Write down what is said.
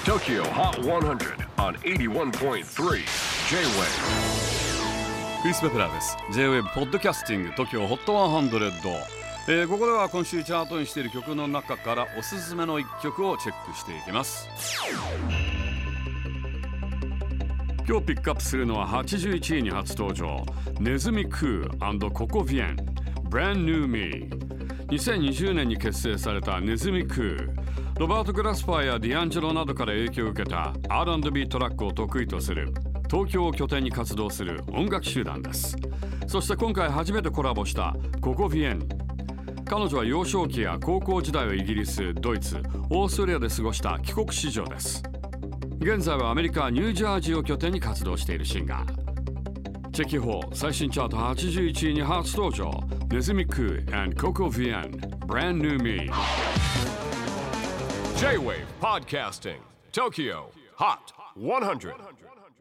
TOKYO HOT 100 on 81.3 J-WAVE クリス・ベプラーです。 J-WAVE ポッドキャスティング TOKYO HOT 100、ここでは今週チャートにしている曲の中からおすすめの一曲をチェックしていきます。今日ピックアップするのは81位に初登場、ネズミクー&ココ・ヴィエン Brand New Me。 2020年に結成されたネズミクー、ロバート・グラスパーやディアンジェロなどから影響を受けた R&B トラックを得意とする東京を拠点に活動する音楽集団です。そして今回初めてコラボしたココ・ヴィエン。彼女は幼少期や高校時代をイギリス、ドイツ、オーストラリアで過ごした帰国子女です。現在はアメリカ・ニュージャージーを拠点に活動しているシンガー。チェキホー最新チャート81位に初登場、ネズミクー&ココ・ヴィエン Brand New Me。 J-WAVE PODCASTING TOKYO HOT 100